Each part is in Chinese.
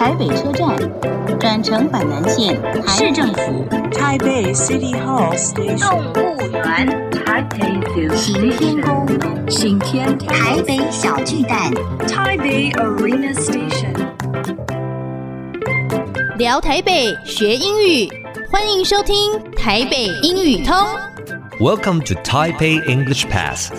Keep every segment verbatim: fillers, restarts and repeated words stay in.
台北車站，轉乘板南線市政府， 台北 City Hall Station， 動物園，行天宮，行天台北小巨蛋， 台北 Arena Station。 聊台北學英語，歡迎收聽台北英語通。 Welcome to Taipei English Pass.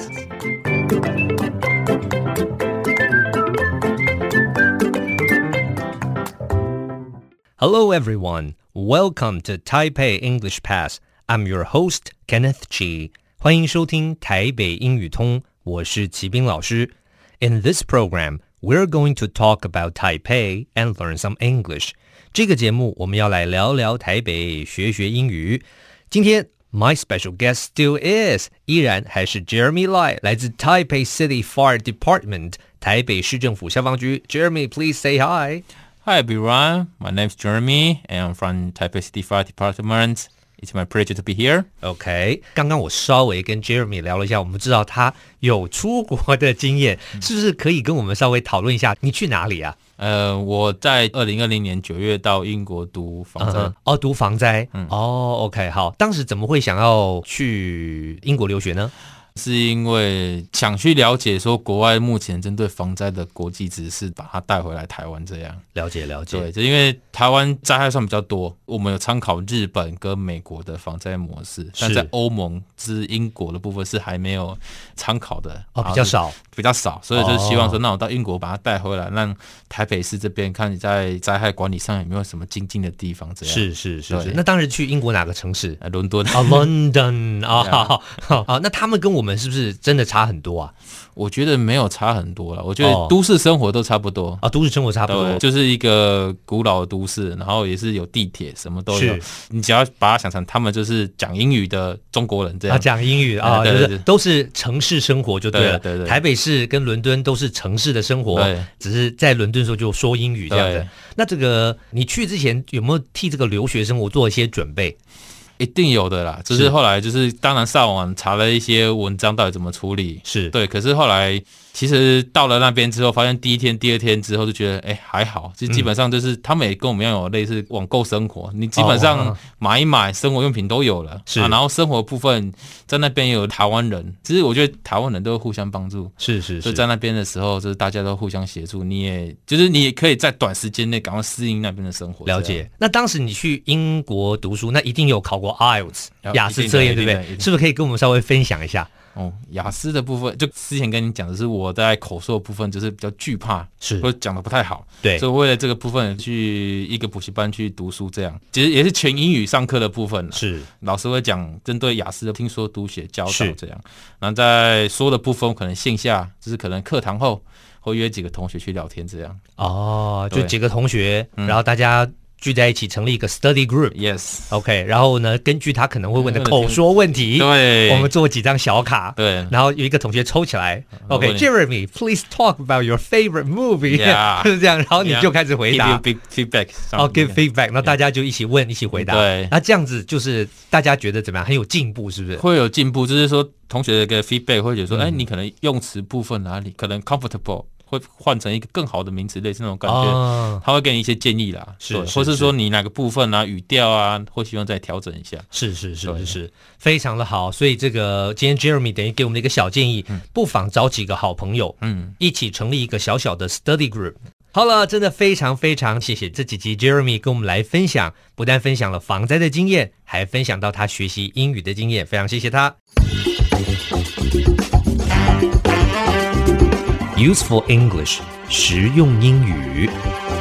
Hello everyone, welcome to Taipei English Pass. I'm your host, Kenneth Chi. 歡迎收聽台北英語通，我是齊斌老師。In this program, we're going to talk about Taipei and learn some English. 這個節目我們要來聊聊台北，學學英語。今天My special guest still is 依然還是 Jeremy Lai 來自 Taipei City Fire Department 台北市政府消防局。 Jeremy, please say hi. Hi everyone, my name is Jeremy and I'm from Taipei City Fire Department. It's my pleasure to be here. OK, 剛剛我稍微跟 Jeremy 聊了一下，我們知道他有出國的經驗，是不是可以跟我們稍微討論一下你去哪裡啊？ 呃，我在二零二零年九月到英國讀防災。Uh-huh. 哦，讀防災。嗯。哦 ，OK， 好。當時怎麼會想要去英國留學呢？ 是因為想去了解說國外目前針對防災的國際知識，把它帶回來台灣這樣。 了解了解。 對，就因為台灣災害算比較多，我們有參考日本跟美國的防災模式，但在歐盟之英國的部分是還沒有參考的。 哦，比較少， 比較少，所以就希望說，那我到英國把它帶回來，讓台北市這邊看你在災害管理上有沒有什麼精進的地方。這樣是是是是。那當時去英國哪個城市？ 呃，倫敦。 啊、哦、，London 啊，好好好好。那他們跟我們是不是真的差很多啊？ 我覺得沒有差很多啦，我覺得都市生活都差不多啊、哦， 都市生活差不多， 就是一個古老的都市，然後也是有地鐵，什麼都有。你只要把它想成他們就是講英語的中國人這樣，啊，講英語啊，對對對，就是都是城市生活就對了。對對對，台北市跟倫敦都是城市的生活，只是在倫敦的時候就說英語這樣子。那這個你去之前有沒有替這個留學生活做一些準備？ 一定有的啦，就是後來就是當然上網查了一些文章到底怎麼處理，是對，可是後來其實到了那邊之後，發現第一天第二天之後就覺得哎還好，就基本上就是、嗯、他們也跟我們一樣有類似網購生活，你基本上買一買生活用品都有了，是、啊、然後生活部分在那邊也有台灣人，其實我覺得台灣人都會互相幫助，是是是，所以在那邊的時候就是大家都互相協助，你也就是你也可以在短時間內趕快適應那邊的生活。了解。那當時你去英國讀書，那一定有考過 I E L T S 雅思測驗對不對？是不是可以跟我們稍微分享一下？哦，雅思的部分，就之前跟你講的是我在口說的部分，就是比較懼怕，是或者講的不太好，對，所以為了這個部分去一個補習班去讀書，這樣其實也是全英語上課的部分，是老師會講針對雅思的聽說讀寫教導這樣，然後在說的部分可能線下就是可能課堂後會約幾個同學去聊天這樣，哦，就幾個同學，然後大家聚在一起成立一個 study group，yes，OK， 然後呢，根據他可能會問的口說問題，對，我們做幾張小卡，對，然後有一個同學抽起來 ，OK，Jeremy， please talk about your favorite movie， 就是這樣，然後你就開始回答 ，give feedback， 哦 ，give feedback， 那大家就一起問，一起回答，對，那這樣子就是大家覺得怎麼樣？很有進步，是不是？ 會有進步，就是說同學的一個 feedback 會覺得說，哎，你可能用詞部分哪裡可能 comfortable。會換成一個更好的名詞，類似那種感覺，哦、他會給你一些建議啦，是，是，或是說你哪個部分啊、語調啊，或希望再調整一下， 是是是是是，非常的好。所以這個今天 Jeremy 等於給我們的一個小建議，嗯、不妨找幾個好朋友，嗯，一起成立一個小小的 study group。好了，真的非常非常謝謝這幾集 Jeremy 跟我們來分享，不但分享了防災的經驗，還分享到他學習英語的經驗，非常謝謝他。Useful English 實用英語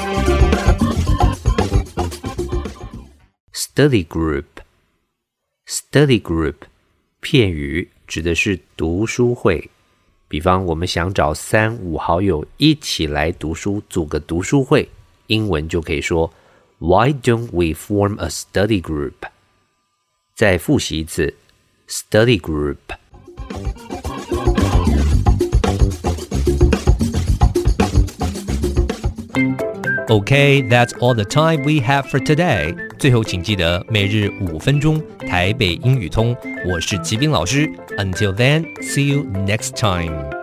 Study Group Study Group 片語指的是讀書會，比方我們想找三五好友一起來讀書，組個讀書會，英文就可以說 Why don't we form a study group？ 再複習一次 Study Group。Okay, that's all the time we have for today. 最後請記得每日五分鐘台北英語通，我是齊斌老師。Until then, see you next time.